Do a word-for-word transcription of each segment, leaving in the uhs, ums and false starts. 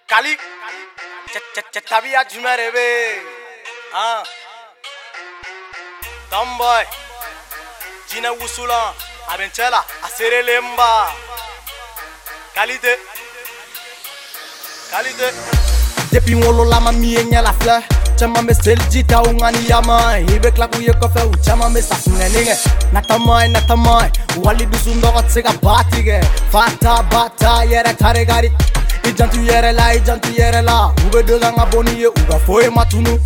Kali, Chavia Jumarebe, ah, Tomboy, Gina Wusula, Avenchela, Asere Lemba, Kalite, Kalite. Depuis mon la mamie et la fleur, chama me seljita ungani yama, ibe klaku ye kofe u chama me safunenige, natamai natamai, wali dusundo tsega batige, fata bata yere taregari. Ijantu yere la, ijantu yere la, ube doga nga boni ye uga foye matunu.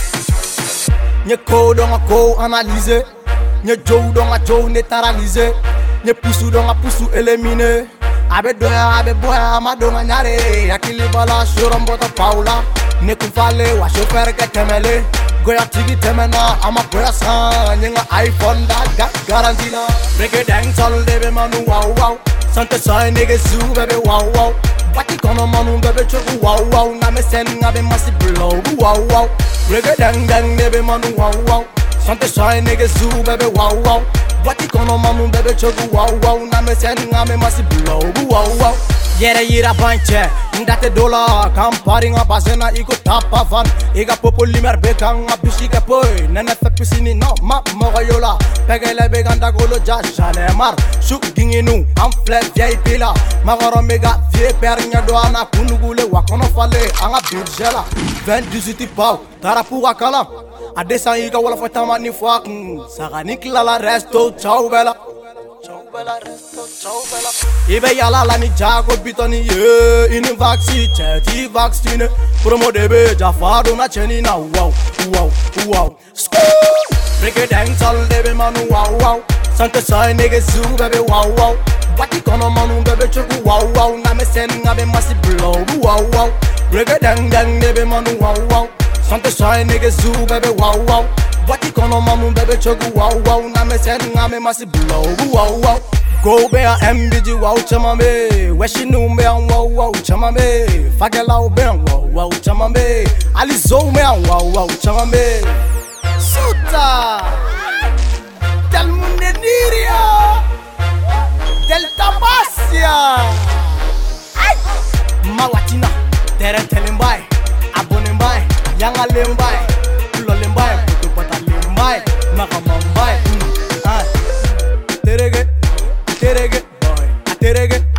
Nye ko donga ko analyse, nye jow donga jow neutralise, nye pusu donga pusu elimine. Abe doya abe boya ama donga nyare, yakili bala shurambota paula. Ne kufale wa chauffeur ke temele, goya tigi temena ama goya san, nyenga iPhone da ga garantina. Break it down sol debe manu wow wow, sante soy nigga zoo baby wow wow. Wati kono manu bebe choku wow wow, na me sen ngabe masi blow wow wow. Rege dang dang bebe manu wow wow, sante soy nigga zoo bebe wow wow. Wati kono manu bebe choku wow wow, na me sen ngabe masi blow wow wow. Yere yira banche, ndate dola, kampari nga bazena iko tapa van. Iga popo limer beka nga bishike poi, nene fe pisini no ma moga yola. Pegele beganda golo ja jale mar, shuk ginginu, amfle vieille pila. Magoro mega vie pernya doana kunugule wakono fale, anga birjela. vingt-dix-huit pau, tarapu wakala. Adesa iga wala fatama ni fuak, sagani klala resto ciao bella. Ciao bella resto, ciao bella. Ibe yala la ni jago bitoni ye, ini vaccine, cheti vaccine. Promo debe jafado na cheni na wow, wow, wow. Break it down sol debe manu wow wow. Sante soy nigga zoo baby wow wow. Wati kono manu bebe choku wow wow, na me sen ngabe masi blow wow wow. Break it down down debe manu wow wow. Sante soy nigga zoo baby wow wow. Wati kono manu bebe choku wow wow, na me sen ngabe masi blow wow wow. Go be a M B G wow chama me, weshi numbe an wow wow chama me, fagela be an wow wow chama me, alizo me an wow wow chama me. Suta, del Muneniria, del Tabasia, Mawatina, Tere Telimbai, Abonembai, Yanga Lembai, Pulo Lembai, Putupata Lembai, Makamambai, ah, Terege, Terege, boy, Terege.